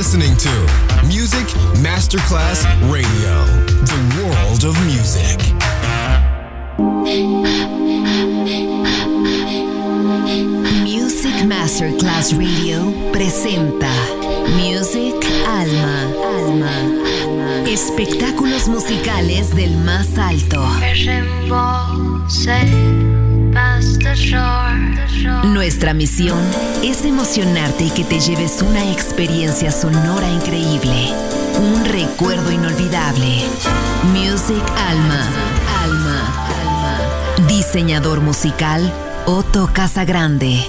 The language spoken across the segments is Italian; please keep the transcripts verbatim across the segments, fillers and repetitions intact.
listening to Music Masterclass Radio, the world of music. Music Masterclass Radio presenta Music Alma, Alma, espectáculos musicales del más alto. Nuestra misión es emocionarte y que te lleves una experiencia sonora increíble, un recuerdo inolvidable. Music Alma, Alma, Alma. Diseñador musical Otto Casagrande.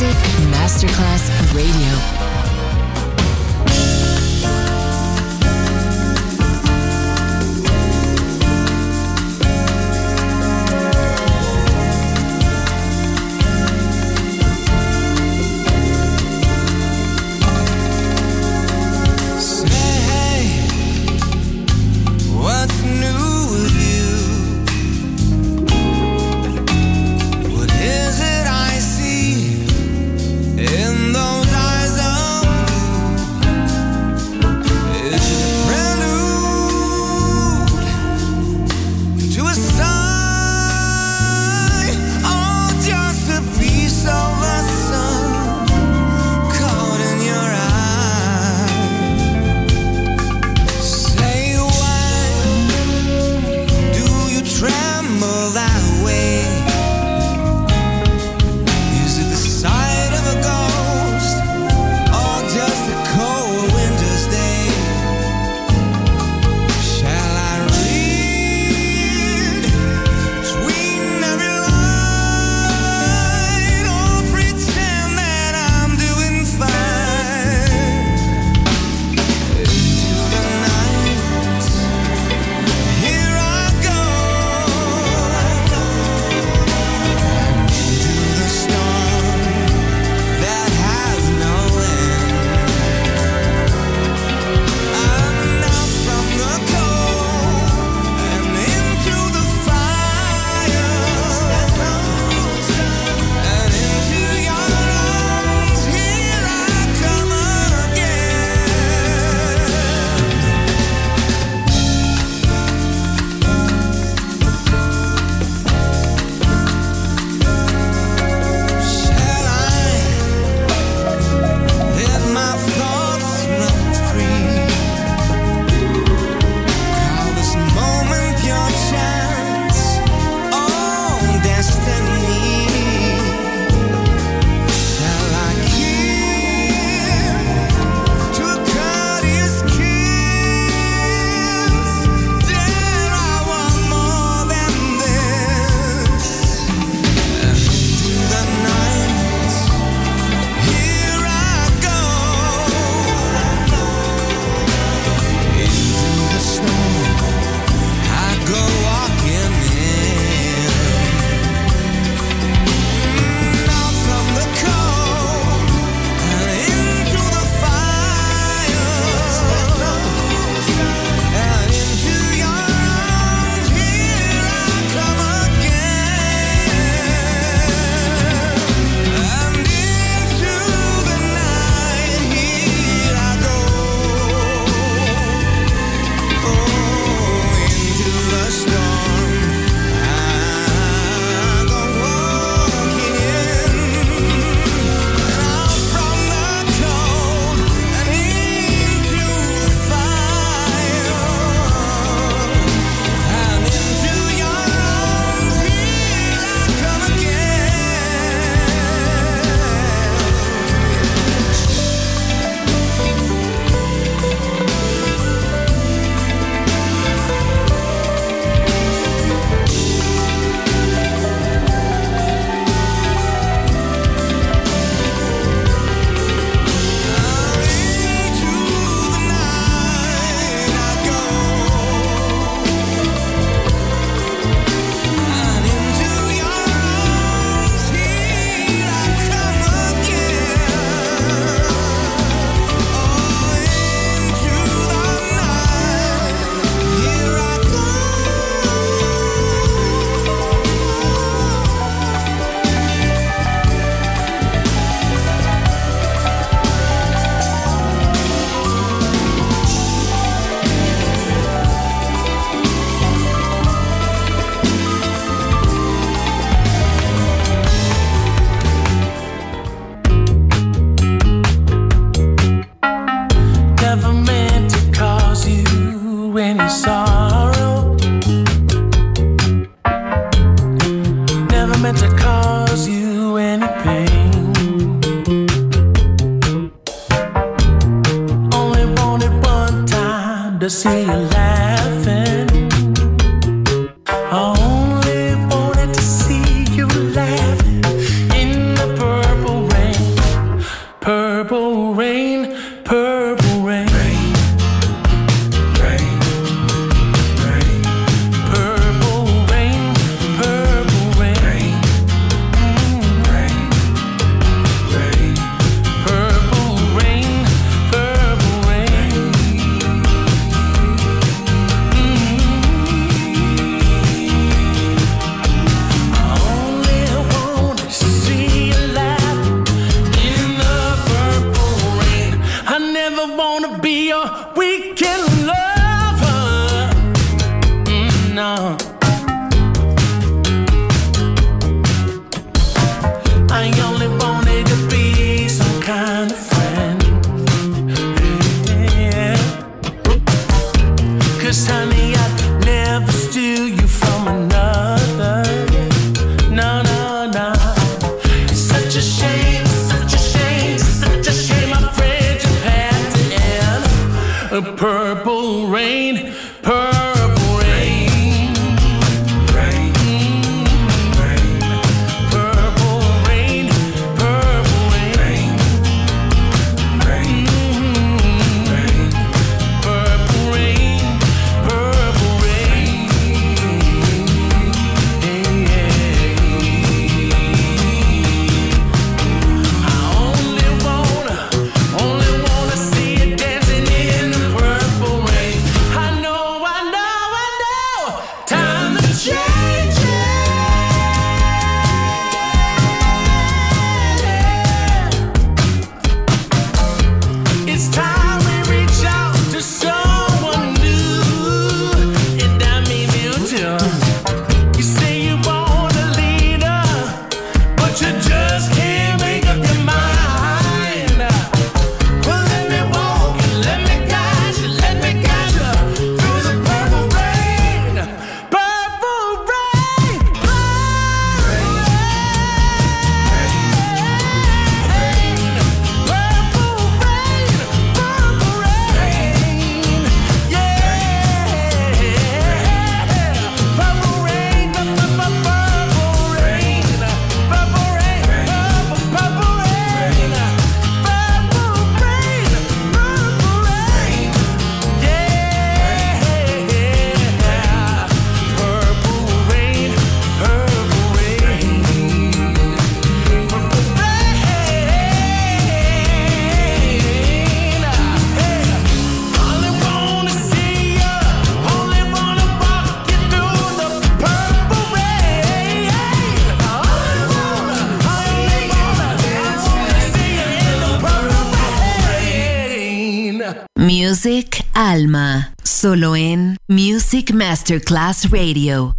Music Masterclass Radio. to see you laughing. I only wanted to see you laughing in the purple rain. Purple rain, purple rain, rain, rain, purple rain, purple rain, rain, rain, purple rain, purple rain. I only wanna, only wanna see you dancing in the purple rain. I know, I know, I know, time to change it. It's time we reach out to someone new, and I mean you too. You say you want a leader, but you just can't make up your mind. Well, let me walk you, let me guide you, let me guide you through the purple rain, purple rain, purple rain, purple rain, purple rain, yeah, purple rain, purple rain, purple rain, purple rain, purple rain, purple rain, purple rain, yeah, purple rain, purple rain, purple rain. Only wanna see you, only wanna walk you through the purple rain. Only wanna, only wanna, wanna see you in the purple rain. Music Alma, solo en Music Masterclass Radio.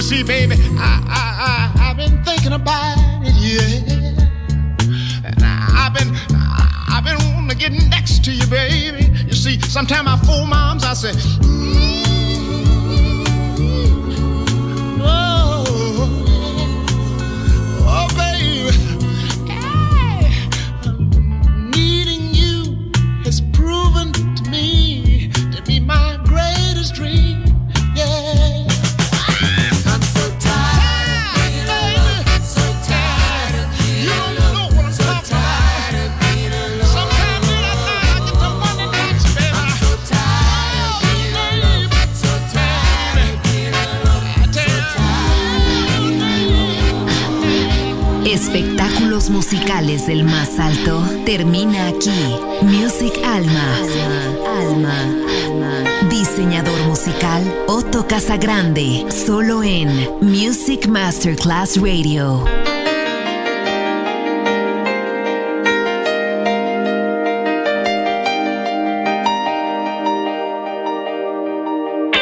see, baby, I, I, I, I've been thinking about it, yeah. And I, I've been, I, I've been wanting to get next to you, baby. You see, sometimes I fool moms, I say, mm, oh, oh, baby, hey, needing you has proven to me to be my greatest dream, yeah. Espectáculos musicales del más alto termina aquí. Music Alma. Alma. Alma. Diseñador musical Otto Casagrande. Solo en Music Masterclass Radio.